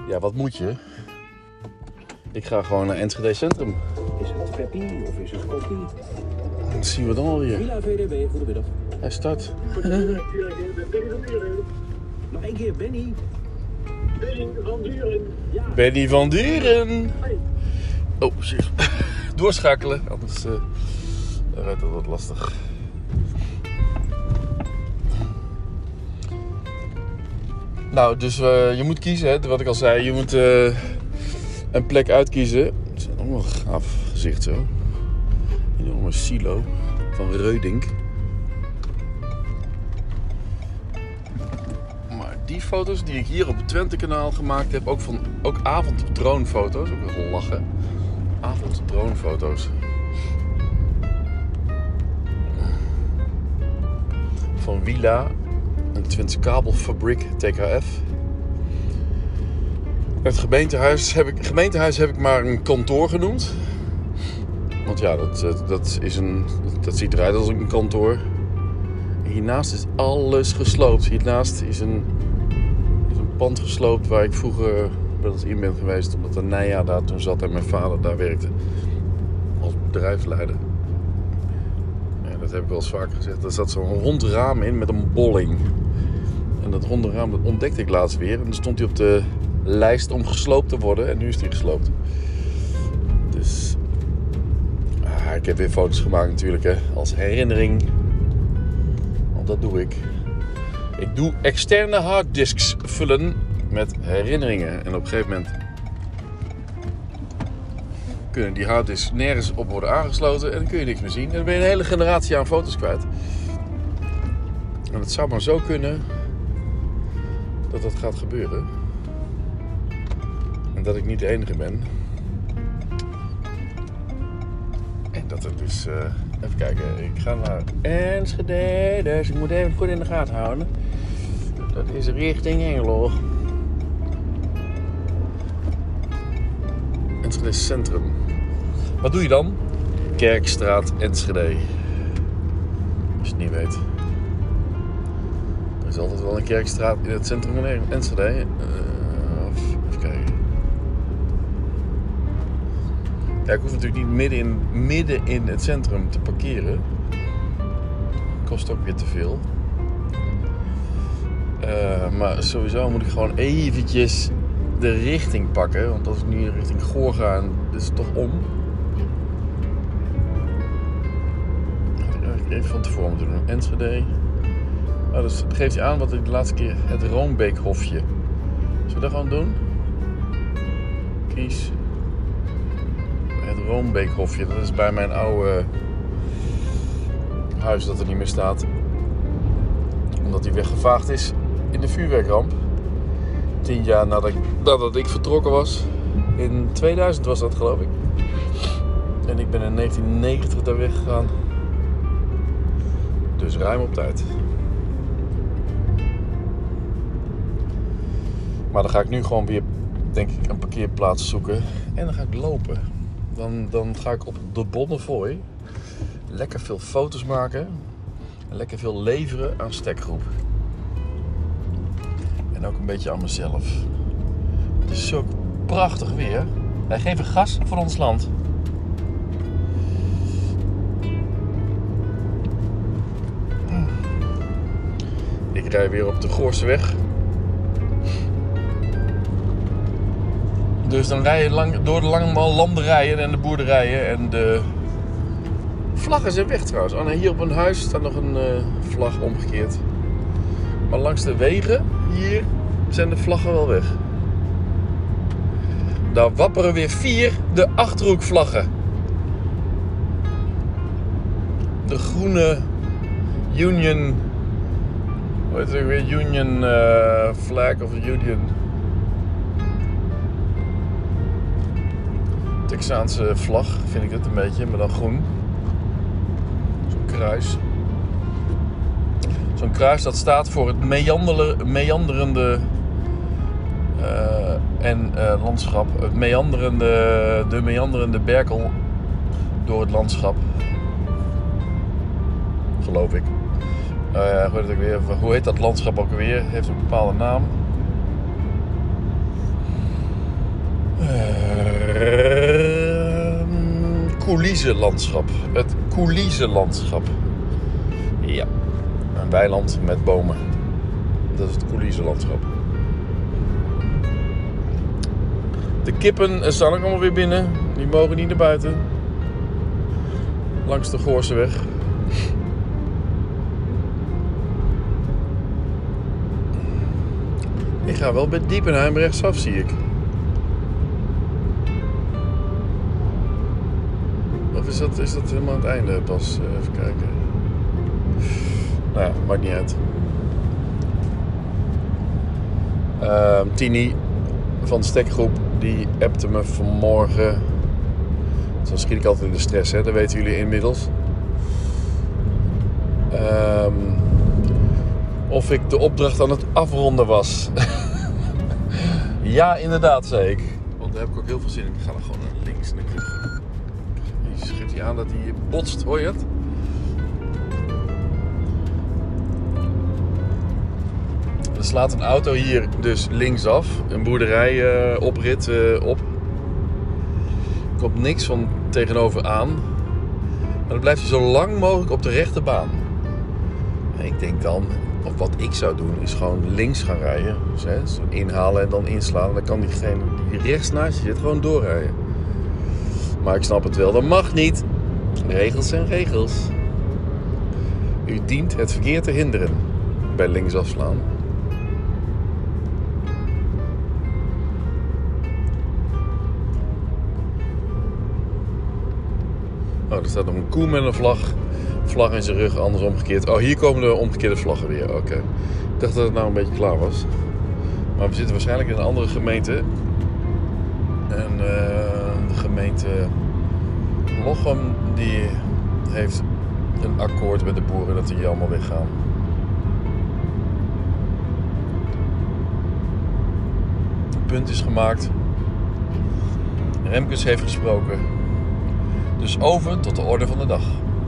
Ja, wat moet je? Ik ga gewoon naar Enschede Centrum. Is het Peppy of is het Koppie? Dat zien we dan alweer. Villa VDB, goedemiddag. Hij start. Nog één keer, Benny. Benny van Duren. Ja. Benny van Duren. Oh, shit. Doorschakelen, anders rijdt dat wat lastig. Nou, dus je moet kiezen, hè, wat ik al zei. Je moet een plek uitkiezen. Het is ook wel een gaaf gezicht zo. Een enorme silo van Reudink. Maar die foto's die ik hier op het Twente-kanaal gemaakt heb, ook avonddronefoto's, ook wel lachen. Avonddronefoto's. Van Willa, een Twentse kabelfabriek, TKF. Het gemeentehuis heb ik maar een kantoor genoemd. Want ja, dat ziet eruit als een kantoor. En hiernaast is alles gesloopt. Hiernaast is een pand gesloopt waar ik vroeger wel eens in ben geweest. Omdat de Nija daar toen zat en mijn vader daar werkte. Als bedrijfsleider. Ja, dat heb ik wel eens vaker gezegd. Daar zat zo'n rond raam in met een bolling. En dat ronde raam dat ontdekte ik laatst weer. En dan stond hij op de lijst om gesloopt te worden. En nu is hij gesloopt. Dus ik heb weer foto's gemaakt natuurlijk, hè, als herinnering. Want dat doe ik. Ik doe externe harddisks vullen met herinneringen. En op een gegeven moment kunnen die harddisks nergens op worden aangesloten. En dan kun je niks meer zien. En dan ben je een hele generatie aan foto's kwijt. En het zou maar zo kunnen dat dat gaat gebeuren. En dat ik niet de enige ben. En dat het dus... even kijken. Ik ga naar Enschede. Dus ik moet even goed in de gaten houden. Dat is richting Hengelo. Enschede Centrum. Wat doe je dan? Kerkstraat Enschede. Als je het niet weet. Er is altijd wel een kerkstraat in het centrum van Enschede. Even kijken. Ja, ik hoef natuurlijk niet midden in het centrum te parkeren. Kost ook weer te veel. Maar sowieso moet ik gewoon eventjes de richting pakken. Want als ik nu richting Goor ga, en dit is toch om. Had ik eigenlijk even van tevoren moeten doen. Enschede. Nou, dus geeft hij aan wat ik de laatste keer... Het Roombeekhofje. Zullen we dat gewoon doen? Kies... Het Roombeekhofje, dat is bij mijn oude huis dat er niet meer staat. Omdat die weggevaagd is in de vuurwerkramp. 10 jaar nadat ik vertrokken was. In 2000 was dat, geloof ik. En ik ben in 1990 daar weggegaan. Dus ruim op tijd. Maar dan ga ik nu gewoon weer, denk ik, een parkeerplaats zoeken. En dan ga ik lopen. Dan ga ik op de Bonnefoy lekker veel foto's maken. En lekker veel leveren aan Stekgroep. En ook een beetje aan mezelf. Het is zo prachtig weer. Wij geven gas voor ons land. Ik rij weer op de Goorseweg. Dus dan rij je door de lange landerijen en de boerderijen en de vlaggen zijn weg trouwens. Oh nee, hier op een huis staat nog een vlag omgekeerd. Maar langs de wegen hier zijn de vlaggen wel weg. Daar wapperen weer 4 de Achterhoekvlaggen. De groene Union, hoe heet het weer? Union flag of Union. Texaanse vlag vind ik het een beetje, maar dan groen. Zo'n kruis. Zo'n kruis dat staat voor het meanderende landschap. Het de meanderende berkel door het landschap. Geloof ik. Hoe heet dat landschap ook alweer? Heeft een bepaalde naam. Coulissenlandschap. Het coulissenlandschap. Ja, een weiland met bomen. Dat is het coulissenlandschap. De kippen staan ook allemaal weer binnen. Die mogen niet naar buiten. Langs de Goorseweg. Ik ga wel bij Diepenheim rechtsaf, zie ik. Of is dat helemaal aan het einde pas? Even kijken. Nou ja, maakt niet uit. Tini van de stekgroep, die appte me vanmorgen. Zo schiet ik altijd in de stress, hè? Dat weten jullie inmiddels. Of ik de opdracht aan het afronden was. Ja, inderdaad, zei ik. Want daar heb ik ook heel veel zin in. Ik ga er gewoon naar links. Je schudt hij aan dat hij botst, hoor je het? Er slaat een auto hier dus linksaf. Een boerderij oprit op. Er komt niks van tegenover aan. Maar dan blijft hij zo lang mogelijk op de rechte baan. En ik denk dan, of wat ik zou doen, is gewoon links gaan rijden. Dus, hè, zo inhalen en dan inslaan. Dan kan diegene die rechts naast je zit gewoon doorrijden. Maar ik snap het wel, dat mag niet. Regels zijn regels. U dient het verkeer te hinderen bij linksafslaan. Oh, er staat nog een koe met een vlag in zijn rug, anders omgekeerd. Oh, hier komen de omgekeerde vlaggen weer. Oké. Ik dacht dat het nou een beetje klaar was. Maar we zitten waarschijnlijk in een andere gemeente. En de gemeente Lochem, die heeft een akkoord met de boeren dat die hier allemaal weggaan. Het punt is gemaakt. Remkes heeft gesproken. Dus over tot de orde van de dag.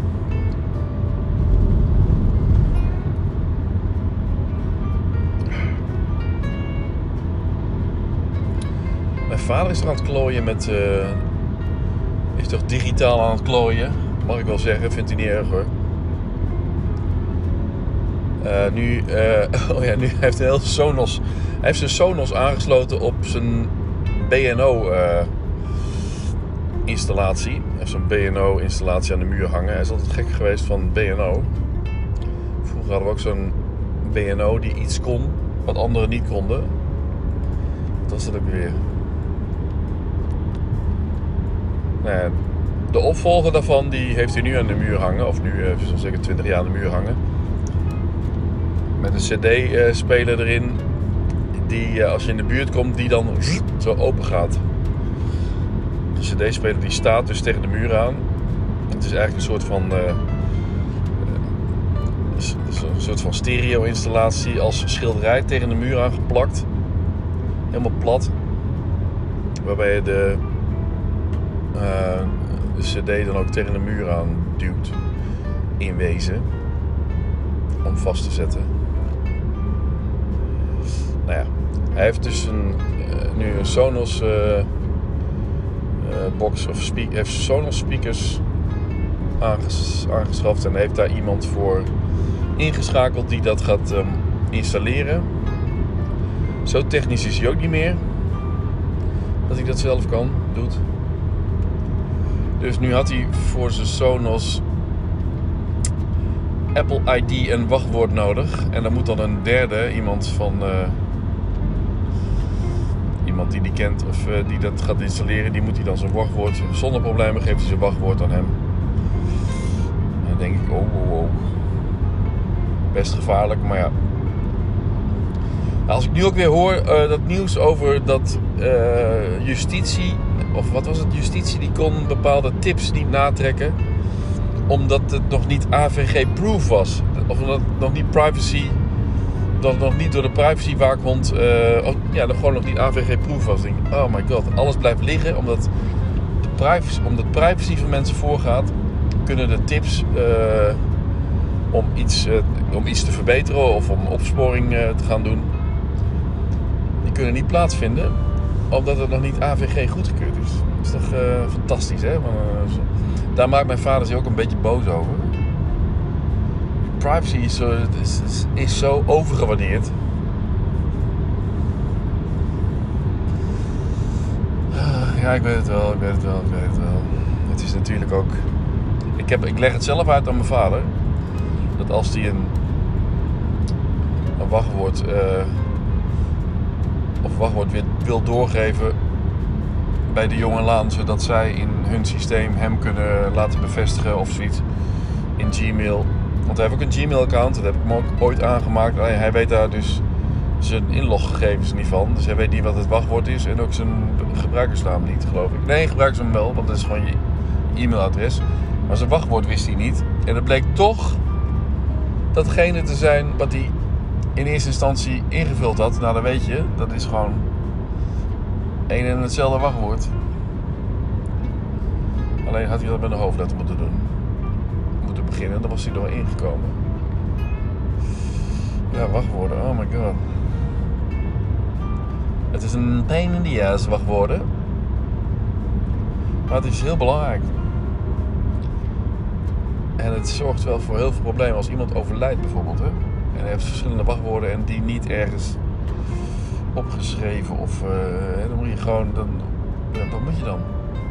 Mijn vader is er aan het klooien met... is toch digitaal aan het klooien? Mag ik wel zeggen, vindt hij niet erg hoor. Nu heeft hij heel Sonos. Hij heeft zijn Sonos aangesloten op zijn BNO installatie. Hij heeft zo'n BNO installatie aan de muur hangen. Hij is altijd gek geweest van BNO. Vroeger hadden we ook zo'n BNO die iets kon wat anderen niet konden. Dat was het ook weer. Nou ja, de opvolger daarvan die heeft hij nu aan de muur hangen. Of nu zo'n zeker 20 jaar aan de muur hangen. Met een cd-speler erin. Die als je in de buurt komt, die dan zo open gaat. De cd-speler die staat dus tegen de muur aan. Het is eigenlijk een soort van stereo-installatie als schilderij tegen de muur aangeplakt. Helemaal plat. Waarbij je de cd dan ook tegen de muur aan duwt. In wezen. Om vast te zetten. Nou ja. Hij heeft dus nu een Sonos box of heeft Sonos speakers aangeschaft. En heeft daar iemand voor ingeschakeld die dat gaat installeren. Zo technisch is hij ook niet meer. Dat hij dat zelf doet. Dus nu had hij voor zijn Sonos Apple ID en wachtwoord nodig. En dan moet dan een derde, iemand die kent of die dat gaat installeren, die moet hij dan zijn wachtwoord, zonder problemen geeft hij zijn wachtwoord aan hem. En dan denk ik, oh. Best gevaarlijk, maar ja. Als ik nu ook weer hoor dat nieuws over dat justitie, of wat was het, justitie die kon bepaalde tips niet natrekken, omdat het nog niet AVG-proof was. Of omdat het nog niet dat het nog niet door de privacywaakhond gewoon nog niet AVG-proof was. Ik denk, oh my god, alles blijft liggen omdat privacy van mensen voorgaat, kunnen de tips om iets te verbeteren of om opsporing te gaan doen, die kunnen niet plaatsvinden. Omdat het nog niet AVG goedgekeurd is. Dat is toch fantastisch, hè? Daar maakt mijn vader zich ook een beetje boos over. Privacy is zo overgewaardeerd. Ja, ik weet het wel. Het is natuurlijk ook... Ik leg het zelf uit aan mijn vader. Dat als hij een wachtwoord... of wachtwoord weer wil doorgeven bij de jongelaan, zodat zij in hun systeem hem kunnen laten bevestigen of zoiets in Gmail. Want hij heeft ook een Gmail-account, dat heb ik hem ook ooit aangemaakt. Alleen hij weet daar dus zijn inloggegevens niet van. Dus hij weet niet wat het wachtwoord is en ook zijn gebruikersnaam niet, geloof ik. Nee, gebruikersnaam wel, want dat is gewoon je e-mailadres. Maar zijn wachtwoord wist hij niet. En het bleek toch datgene te zijn wat hij in eerste instantie ingevuld had. Nou, dan weet je, dat is gewoon één en hetzelfde wachtwoord. Alleen had hij dat met een hoofdletter moeten doen. Moeten beginnen, dan was hij er wel ingekomen. Ja, wachtwoorden, oh my god. Het is een pain in the ass, wachtwoorden. Maar het is heel belangrijk. En het zorgt wel voor heel veel problemen als iemand overlijdt bijvoorbeeld, hè. En hij heeft verschillende wachtwoorden en die niet ergens opgeschreven of dan moet je gewoon, wat moet je dan?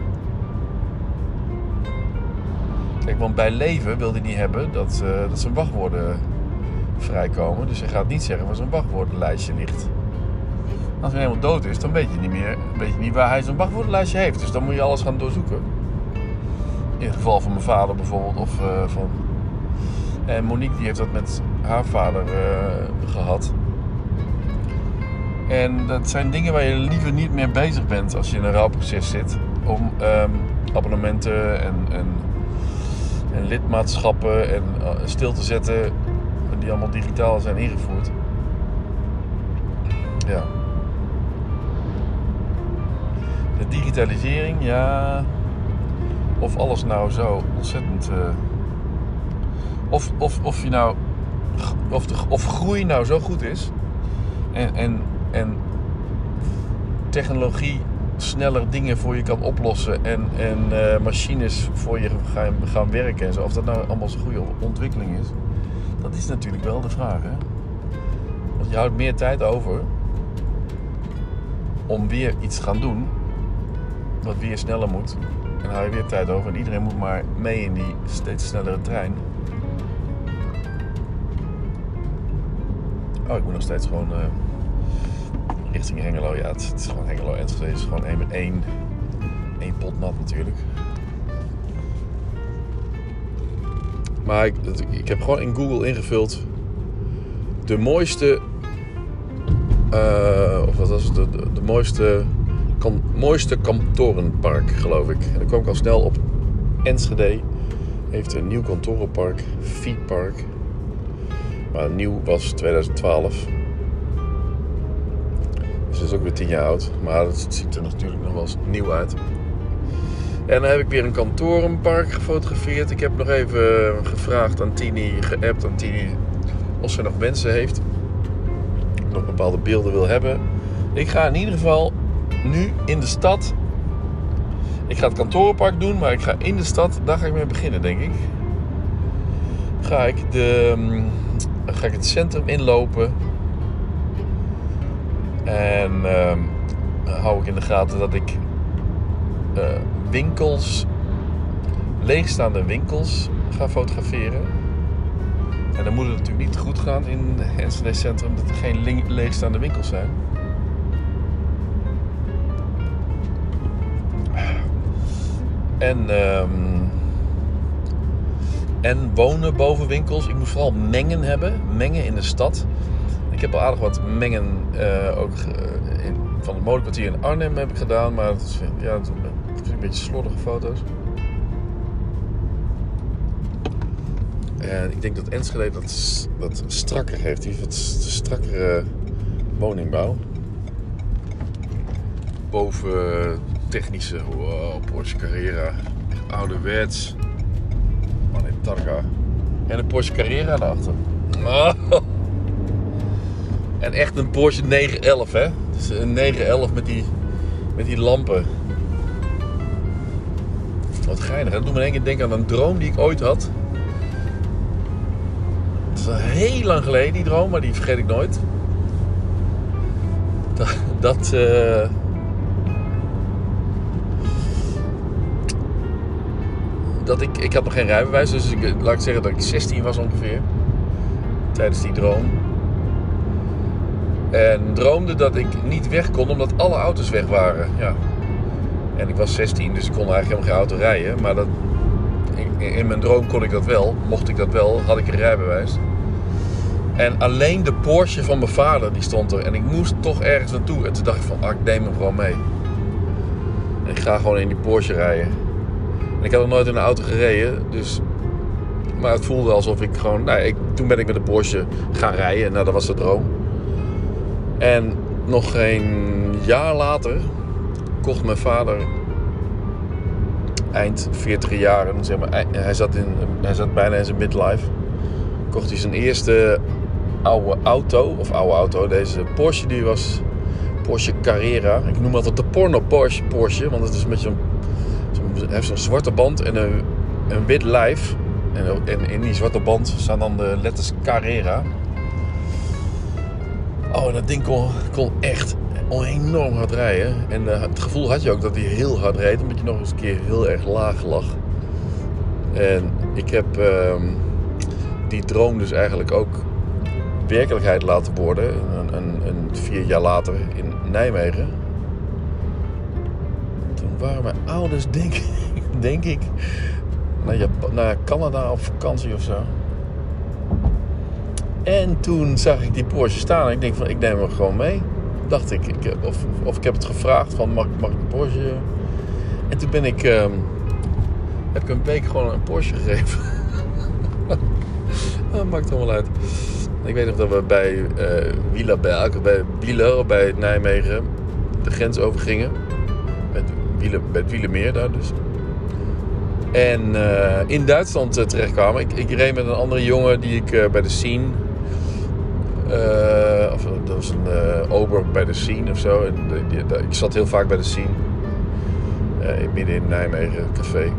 Kijk, want bij leven wil hij niet hebben dat zijn wachtwoorden vrijkomen. Dus hij gaat niet zeggen waar zijn wachtwoordenlijstje ligt. Als hij helemaal dood is, dan weet je niet waar hij zijn wachtwoordenlijstje heeft. Dus dan moet je alles gaan doorzoeken. In het geval van mijn vader bijvoorbeeld of van... En Monique die heeft dat met haar vader gehad. En dat zijn dingen waar je liever niet meer bezig bent als je in een rouwproces zit. Om abonnementen en lidmaatschappen en stil te zetten die allemaal digitaal zijn ingevoerd. Ja. De digitalisering, ja. Of alles nou zo ontzettend... Of je nou... Of groei nou zo goed is. En technologie sneller dingen voor je kan oplossen. En machines voor je gaan werken en zo. Of dat nou allemaal zo'n goede ontwikkeling is. Dat is natuurlijk wel de vraag, hè. Want je houdt meer tijd over om weer iets te gaan doen wat weer sneller moet. En dan hou je weer tijd over. En iedereen moet maar mee in die steeds snellere trein. Oh, ik moet nog steeds gewoon richting Hengelo. Ja, het is gewoon Hengelo. Enschede is gewoon één pot nat natuurlijk. Maar ik heb gewoon in Google ingevuld de mooiste... of wat was het? De mooiste kantorenpark, geloof ik. En dan kwam ik al snel op. Enschede heeft een nieuw kantorenpark, Fietpark. Maar nieuw was 2012. Dus dat is ook weer 10 jaar oud. Maar het ziet er natuurlijk nog wel eens nieuw uit. En dan heb ik weer een kantorenpark gefotografeerd. Ik heb nog even gevraagd aan Tini, geappt aan Tini of ze nog wensen heeft. Nog bepaalde beelden wil hebben. Ik ga in ieder geval nu in de stad. Ik ga het kantorenpark doen, maar ik ga in de stad, daar ga ik mee beginnen, denk ik. Ga ik het centrum inlopen. En hou ik in de gaten dat ik leegstaande winkels ga fotograferen. En dan moet het natuurlijk niet goed gaan in het Enschede centrum dat er geen leegstaande winkels zijn. En wonen boven winkels. Ik moet vooral mengen hebben. Mengen in de stad. Ik heb al aardig wat mengen ook van het modekwartier in Arnhem heb ik gedaan. Maar het is een beetje slordige foto's. En ik denk dat Enschede dat strakker heeft. Die heeft wat strakkere woningbouw. Boven technische Porsche Carrera. Ouderwets. Oh nee, Targa. En een Porsche Carrera daarachter. Oh. En echt een Porsche 911, hè. Dus een 911 met die Met die lampen. Wat geinig. Dat doet me in één keer denken aan een droom die ik ooit had. Het is al heel lang geleden, die droom, maar die vergeet ik nooit. Ik had nog geen rijbewijs, dus laat ik zeggen dat ik 16 was ongeveer. Tijdens die droom. En droomde dat ik niet weg kon omdat alle auto's weg waren. Ja. En ik was 16, dus ik kon eigenlijk helemaal geen auto rijden. Maar in mijn droom kon ik dat wel. Mocht ik dat wel, had ik een rijbewijs. En alleen de Porsche van mijn vader, die stond er. En ik moest toch ergens naartoe. En toen dacht ik van, ik neem hem gewoon mee. En ik ga gewoon in die Porsche rijden. En ik had nog nooit in een auto gereden. Dus... Maar het voelde alsof ik gewoon... toen ben ik met de Porsche gaan rijden. Nou, dat was de droom. En nog geen jaar later kocht mijn vader... Eind 40 jaren, zeg maar, hij zat bijna in zijn midlife. Kocht hij zijn eerste oude auto. Deze Porsche, die was Porsche Carrera. Ik noem altijd de porno Porsche, want het is met hij heeft zo'n zwarte band en een wit lijf. En in die zwarte band staan dan de letters Carrera. Oh, dat ding kon echt enorm hard rijden. En het gevoel had je ook dat hij heel hard reed, omdat je nog eens een keer heel erg laag lag. En ik heb die droom dus eigenlijk ook werkelijkheid laten worden. Een 4 jaar later in Nijmegen. Toen waren mijn ouders, denk ik, naar Canada op vakantie of zo. En toen zag ik die Porsche staan en ik denk van, ik neem hem gewoon mee. Dacht ik. Of ik heb het gevraagd van, mag ik een Porsche? En toen heb ik een week gewoon een Porsche gegeven. Dat maakt allemaal uit. Ik weet nog dat we bij Wieler, bij Nijmegen, de grens overgingen. Bij het Wielermeer daar dus. En in Duitsland terechtkwamen. Ik reed met een andere jongen die ik bij de Scene... dat was een ober bij de Scene of zo. Ik zat heel vaak bij de Scene. Midden in Nijmegen, café.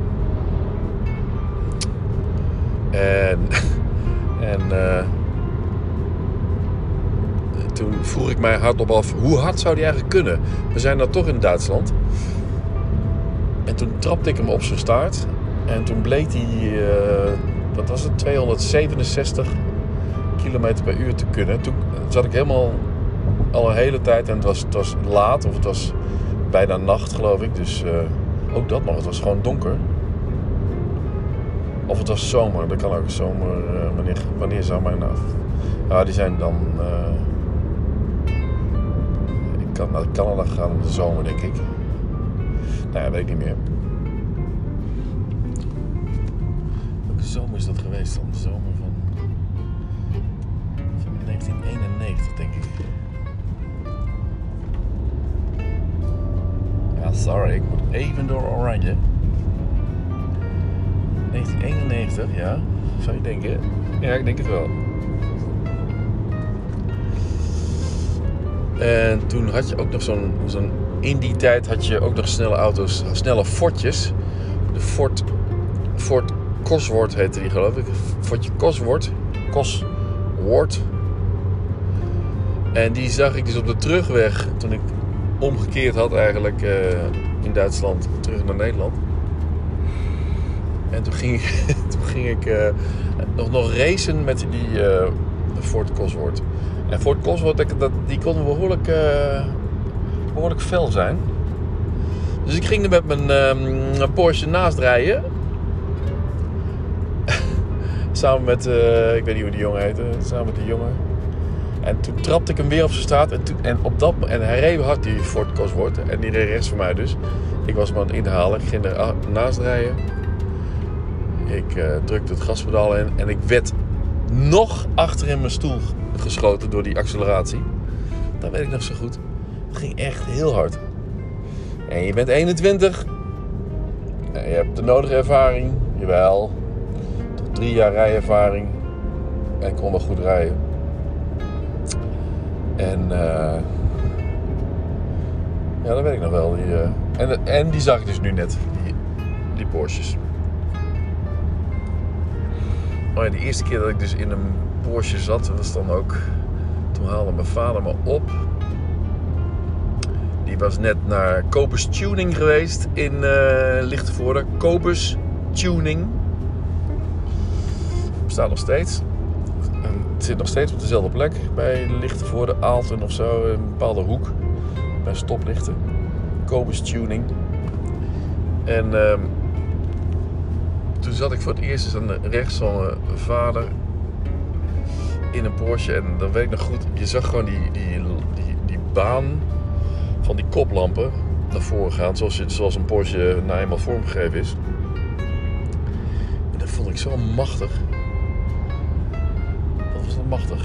Toen vroeg ik mij hardop af, hoe hard zou die eigenlijk kunnen? We zijn dan toch in Duitsland. En toen trapte ik hem op zijn staart. En toen bleek hij, wat was het, 267 kilometer per uur te kunnen. Toen zat ik helemaal al een hele tijd en het was laat, of het was bijna nacht geloof ik. Dus ook dat nog, het was gewoon donker. Of het was zomer, dat kan ook zomer. Wanneer zou mijn af? Ja, die zijn dan... ik kan naar Canada gaan in de zomer, denk ik. Nou ja, weet ik niet meer. Welke zomer is dat geweest dan? De zomer van 1991, denk ik. Ja, sorry, ik moet even door Oranje. 1991, ja. Zou je denken? Ja, ik denk het wel. En toen had je ook nog zo'n... In die tijd had je ook nog snelle auto's, snelle Fordjes. De Ford Cosworth heette die, geloof ik. Fordje Cosworth. En die zag ik dus op de terugweg, toen ik omgekeerd had eigenlijk in Duitsland, terug naar Nederland. En toen ging ik nog racen met die Ford Cosworth. En Ford Cosworth, die kon behoorlijk fel zijn. Dus ik ging er met mijn Porsche naast rijden. Samen met, ik weet niet hoe die jongen heette, samen met die jongen. En toen trapte ik hem weer op zijn straat. En hij reed hard, die Ford Cosworth. En die reed rechts van mij dus. Ik was hem aan het inhalen. Ik ging er naast rijden. Ik drukte het gaspedaal in. En ik werd nog achter in mijn stoel geschoten door die acceleratie. Dat weet ik nog zo goed. Het ging echt heel hard. En je bent 21. En je hebt de nodige ervaring. Jawel. Tot 3 jaar rijervaring. En ik kon wel goed rijden. En Ja, dat weet ik nog wel. En die zag ik dus nu net. Die Porsches. Oh ja, de eerste keer dat ik dus in een Porsche zat, was dan ook... Toen haalde mijn vader me op. Die was net naar Cobus Tuning geweest in Lichtenvoorde. Cobus Tuning. Bestaat nog steeds. En het zit nog steeds op dezelfde plek. Bij Lichtenvoorde, Aalten of zo. Een bepaalde hoek. Bij stoplichten. Cobus Tuning. En toen zat ik voor het eerst aan rechts van mijn vader in een Porsche. En dan weet ik nog goed, je zag gewoon die baan van die koplampen naar voren gaan. Zoals een Porsche nou eenmaal vormgegeven is. En dat vond ik zo machtig. Wat was dat machtig.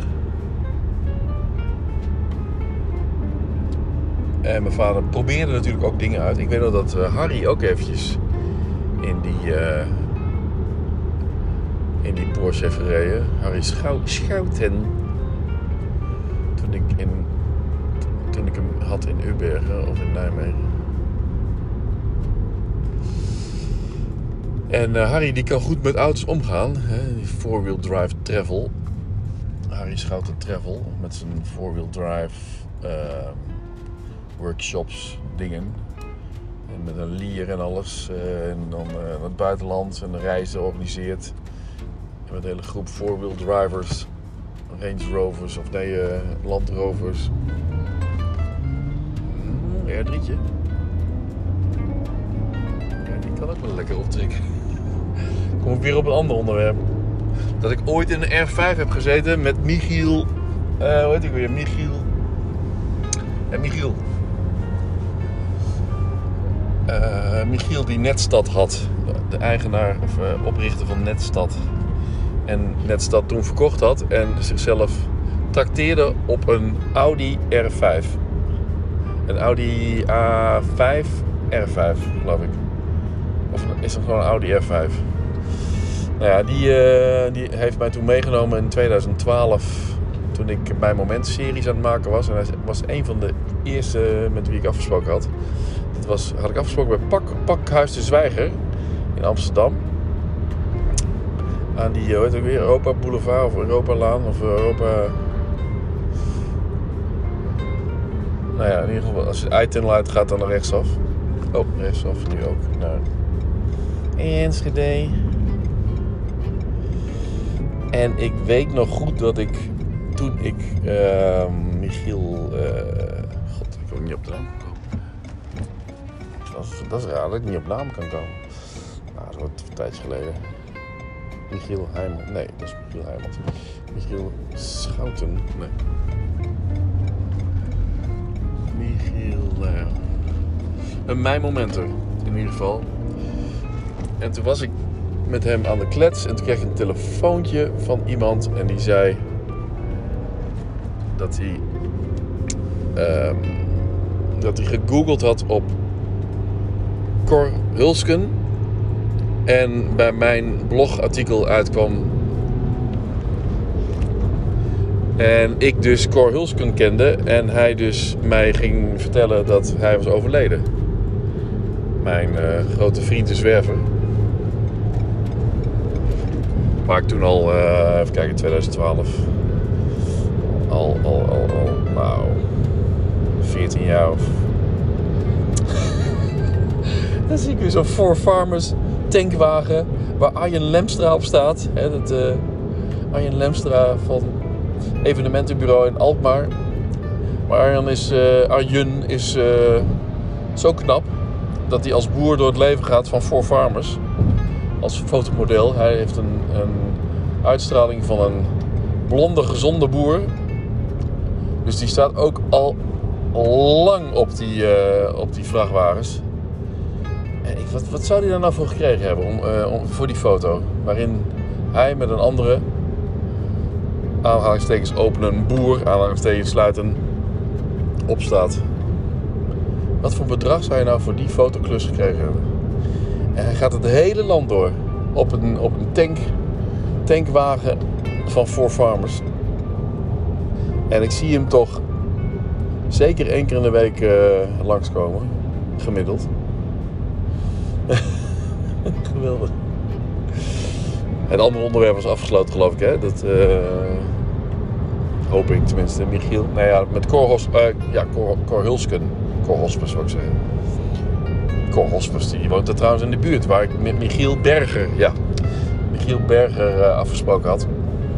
En mijn vader probeerde natuurlijk ook dingen uit. Ik weet nog dat Harry ook eventjes in die Porsche heeft gereden. Harry Schouten. Toen ik hem had in Ubbergen of in Nijmegen. En Harry die kan goed met auto's omgaan. Hè? Die four-wheel drive travel. Harry Schouten travel. Met zijn four-wheel drive workshops dingen. En met een lier en alles. En dan naar het buitenland en reizen organiseert. En met een hele groep four-wheel drivers. Range Rovers of Land Rovers. R3'tje. Ja, die kan ook wel lekker optrekken. Kom ik weer op een ander onderwerp. Dat ik ooit in een R5 heb gezeten met Michiel. Hoe heet ik weer? Michiel. Ja, Michiel. Michiel die Netstad had. De eigenaar of oprichter van Netstad. En Netstad toen verkocht had. En zichzelf trakteerde op een Audi R5. Een Audi A5 R5 geloof ik. Of is het gewoon een Audi R5? Nou ja, die heeft mij toen meegenomen in 2012. Toen ik bij Moment series aan het maken was. En hij was een van de eerste met wie ik afgesproken had. Dat had ik afgesproken bij Pakhuis de Zwijger in Amsterdam. Aan die, hoe heet het weer, Europa Boulevard of Europa Laan of Europa... Nou ja, in ieder geval, als je de I-tunnel uitgaat, dan naar rechtsaf. Oh, rechtsaf nu ook naar Enschede. En ik weet nog goed dat ik, toen ik Michiel... God, ik wil niet op de naam komen. Dat is raar dat ik niet op naam kan komen. Nou, dat wordt een tijdje geleden. Michiel Heijmans. Nee, dat is Michiel Heijmans. Michiel Schouten. Nee. Michiel... een mijn momenter, in ieder geval. En toen was ik met hem aan de klets. En toen kreeg ik een telefoontje van iemand. En die zei... dat hij gegoogeld had op... Cor Hulsken. En bij mijn blogartikel uitkwam. En ik dus Cor Hulsken kende. En hij dus mij ging vertellen dat hij was overleden. Mijn grote vriend de zwerver. Waar ik toen al, even kijken, 2012. Al, nou, 14 jaar of... Dan zie ik weer zo'n Four Farmers tankwagen waar Arjen Lemstra op staat. Hè, Arjen Lemstra van evenementenbureau in Alkmaar. Maar Arjen is zo knap dat hij als boer door het leven gaat van Four Farmers. Als fotomodel. Hij heeft een uitstraling van een blonde, gezonde boer. Dus die staat ook al lang op die vrachtwagens. En wat zou hij daar nou voor gekregen hebben voor die foto? Waarin hij met een andere, aanhalingstekens openen, boer, aanhalingstekens sluiten, opstaat. Wat voor bedrag zou je nou voor die fotoklus gekregen hebben? En hij gaat het hele land door. Op een tankwagen van Four Farmers. En ik zie hem toch zeker 1 keer in de week langskomen. Gemiddeld. Geweldig. Het andere onderwerp was afgesloten, geloof ik, hè? Dat hoop ik tenminste. Michiel. Nou ja, met Cor Hulsken. Cor Hospes, zou ik zeggen. Cor Hospes, die woont er trouwens in de buurt. Waar ik met Michiel Berger afgesproken had.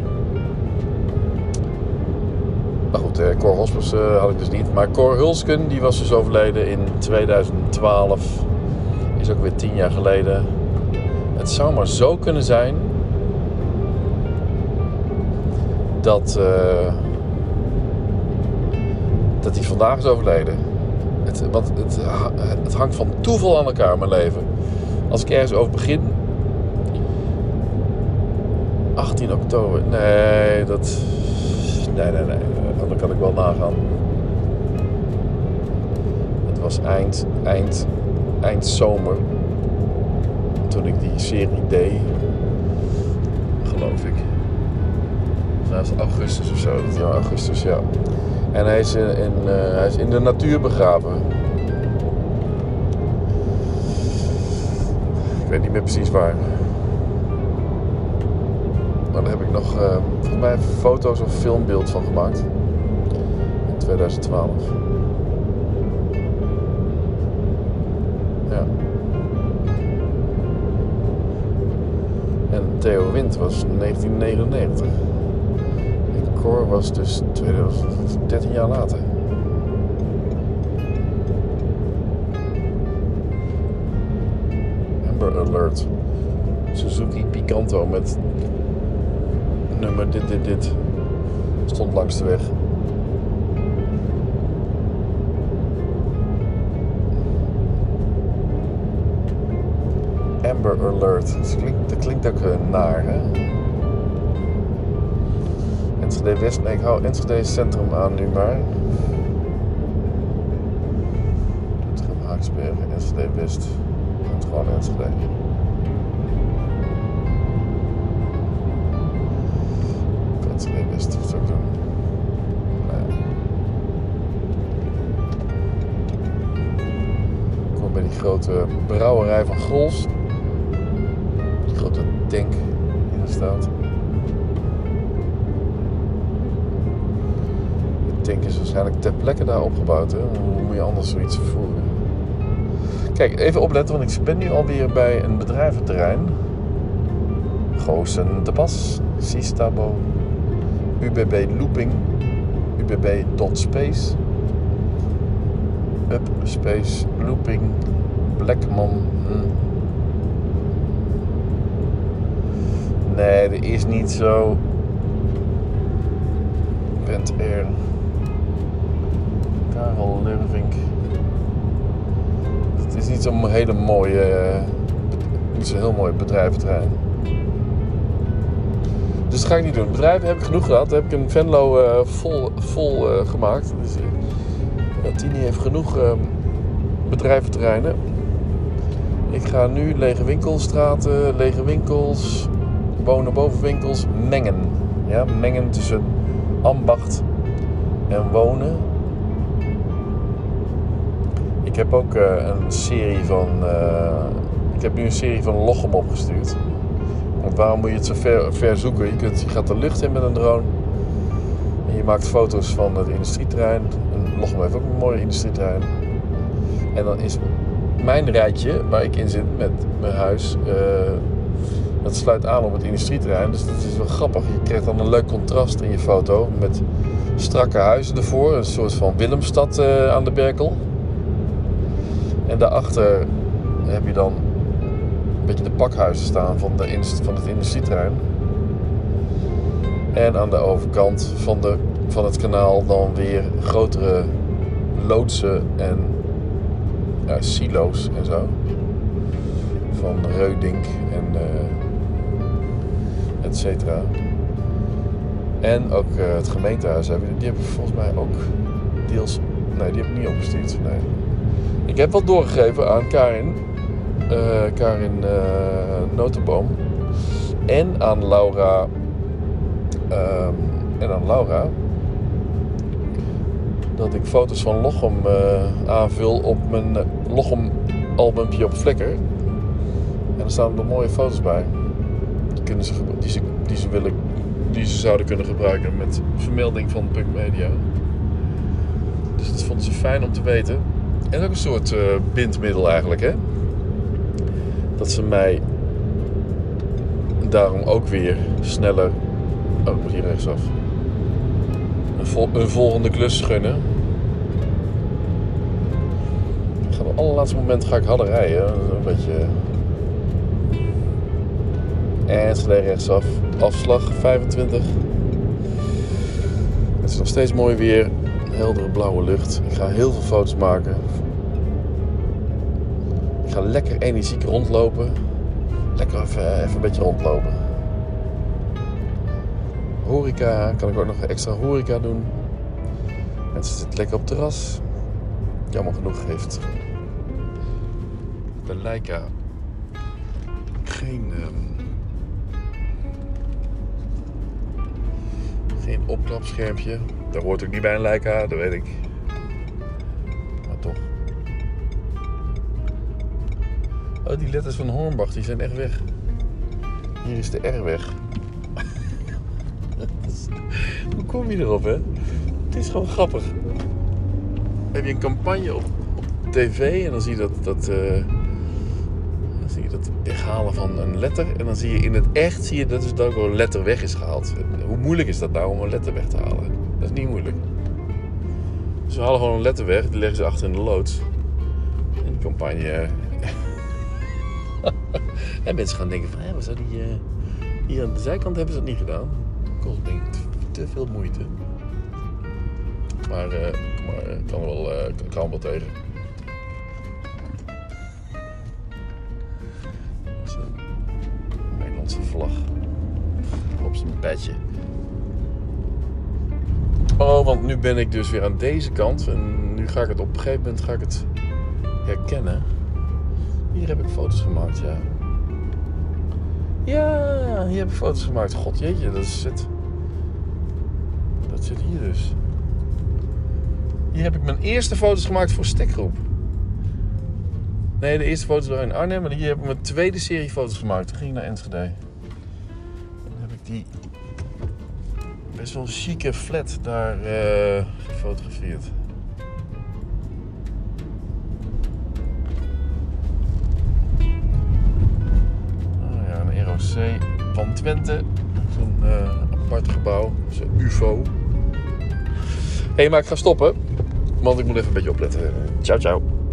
Maar goed, Cor Hospes had ik dus niet. Maar Cor Hulsken, die was dus overleden in 2012. Is ook weer 10 jaar geleden. Het zou maar zo kunnen zijn dat hij vandaag is overleden. Want het hangt van toeval aan elkaar, mijn leven. Als ik ergens over begin... 18 oktober... Nee, dan kan ik wel nagaan. Het was eind zomer. Toen ik die serie deed. Geloof ik. Nou, is het augustus of zo. Ja, augustus, ja. En hij is in de natuur begraven. Ik weet niet meer precies waar. Maar daar heb ik nog volgens mij foto's of filmbeeld van gemaakt. In 2012. Ja. En Theo Wind was 1999. En Cor was dus 13 jaar later. Amber Alert. Suzuki Picanto met nummer dit. Stond langs de weg. Amber Alert. Dat klinkt ook naar, hè? Enschede West. Nee, ik hou Enschede Centrum aan nu maar. Haaksbergen, Enschede West. Het gewoon Enschede. Enschede West, wat zou ik doen? Ik kom bij die grote brouwerij van Grols. Die grote tank die er staat. De tank is waarschijnlijk ter plekke daar opgebouwd. Hè? Hoe moet je anders zoiets vervoeren? Kijk, even opletten, want ik ben nu alweer bij een bedrijventerrein. Goossen de Pas, Sistabo, UBB Looping, UBB.space, Up Space Looping, Blackman. Nee, er is niet zo. Bent Air, Karel Lervink. Het is niet zo'n hele mooie, niet zo'n heel mooi bedrijventerrein. Dus dat ga ik niet doen. Bedrijven heb ik genoeg gehad. Daar heb ik een Venlo vol gemaakt. Dus, Tini heeft genoeg bedrijventerreinen. Ik ga nu lege winkelstraten, lege winkels, wonen-bovenwinkels mengen. Ja, mengen tussen ambacht en wonen. Ik heb ook een serie van... ik heb nu een serie van Lochem opgestuurd. Want waarom moet je het zo ver zoeken? Je gaat de lucht in met een drone. En je maakt foto's van het industrieterrein. En Lochem heeft ook een mooi industrieterrein. En dan is mijn rijtje, waar ik in zit met mijn huis... dat sluit aan op het industrieterrein. Dus dat is wel grappig. Je krijgt dan een leuk contrast in je foto. Met strakke huizen ervoor. Een soort van Willemstad aan de Berkel. En daarachter heb je dan een beetje de pakhuizen staan van het industrieterrein. En aan de overkant van het kanaal dan weer grotere loodsen en silo's en zo. Van Reudink en et cetera. En ook het gemeentehuis die hebben volgens mij ook deels... Nee, die heb ik niet opgestuurd. Nee. Ik heb wat doorgegeven aan Karin Notenboom en aan Laura dat ik foto's van Lochem aanvul op mijn Lochem albumpje op Flickr. En er staan er mooie foto's bij. Die ze zouden kunnen gebruiken met vermelding van Punk Media. Dus dat vonden ze fijn om te weten. En ook een soort bindmiddel eigenlijk, hè. Dat ze mij daarom ook weer sneller... Oh, ik moet hier rechtsaf. Een volgende klus gunnen. Op het allerlaatste moment ga ik harder rijden. Een beetje... Enschede rechtsaf. Afslag 25. Het is nog steeds mooi weer. Heldere blauwe lucht. Ik ga heel veel foto's maken. Ik ga lekker energiek rondlopen. Lekker even een beetje rondlopen. Horeca. Kan ik ook nog extra horeca doen. Mensen zitten lekker op het terras. Jammer genoeg heeft de Leica geen opklapschermpje. Dat hoort ook niet bij een Leica, dat weet ik. Maar toch. Oh, die letters van Hornbach, die zijn echt weg. Hier is de R weg. Hoe kom je erop, hè? Het is gewoon grappig. Heb je een campagne op tv en dan zie je dat weghalen van een letter. En dan zie je in het echt dat ook een letter weg is gehaald. Hoe moeilijk is dat nou om een letter weg te halen? Dat is niet moeilijk. Ze halen gewoon een letter weg, die leggen ze achter in de loods. En die campagne... en mensen gaan denken van, wat zou die... hier aan de zijkant hebben ze dat niet gedaan. Dat kost denk ik te veel moeite. Maar kan wel tegen. Nederlandse vlag op zijn badge. Oh, want nu ben ik dus weer aan deze kant. En nu ga ik het op een gegeven moment herkennen. Hier heb ik foto's gemaakt, ja. Ja, hier heb ik foto's gemaakt. God jeetje, dat zit hier dus. Hier heb ik mijn eerste foto's gemaakt voor Stekgroep. Nee, de eerste foto's waren in Arnhem. En hier heb ik mijn tweede serie foto's gemaakt. Toen ging ik naar Enschede. En dan heb ik die best wel chique flat daar gefotografeerd. Oh ja, een ROC van Twente. Zo'n apart gebouw. Zo'n UFO. Hé, maar ik ga stoppen. Want ik moet even een beetje opletten. Ciao, ciao.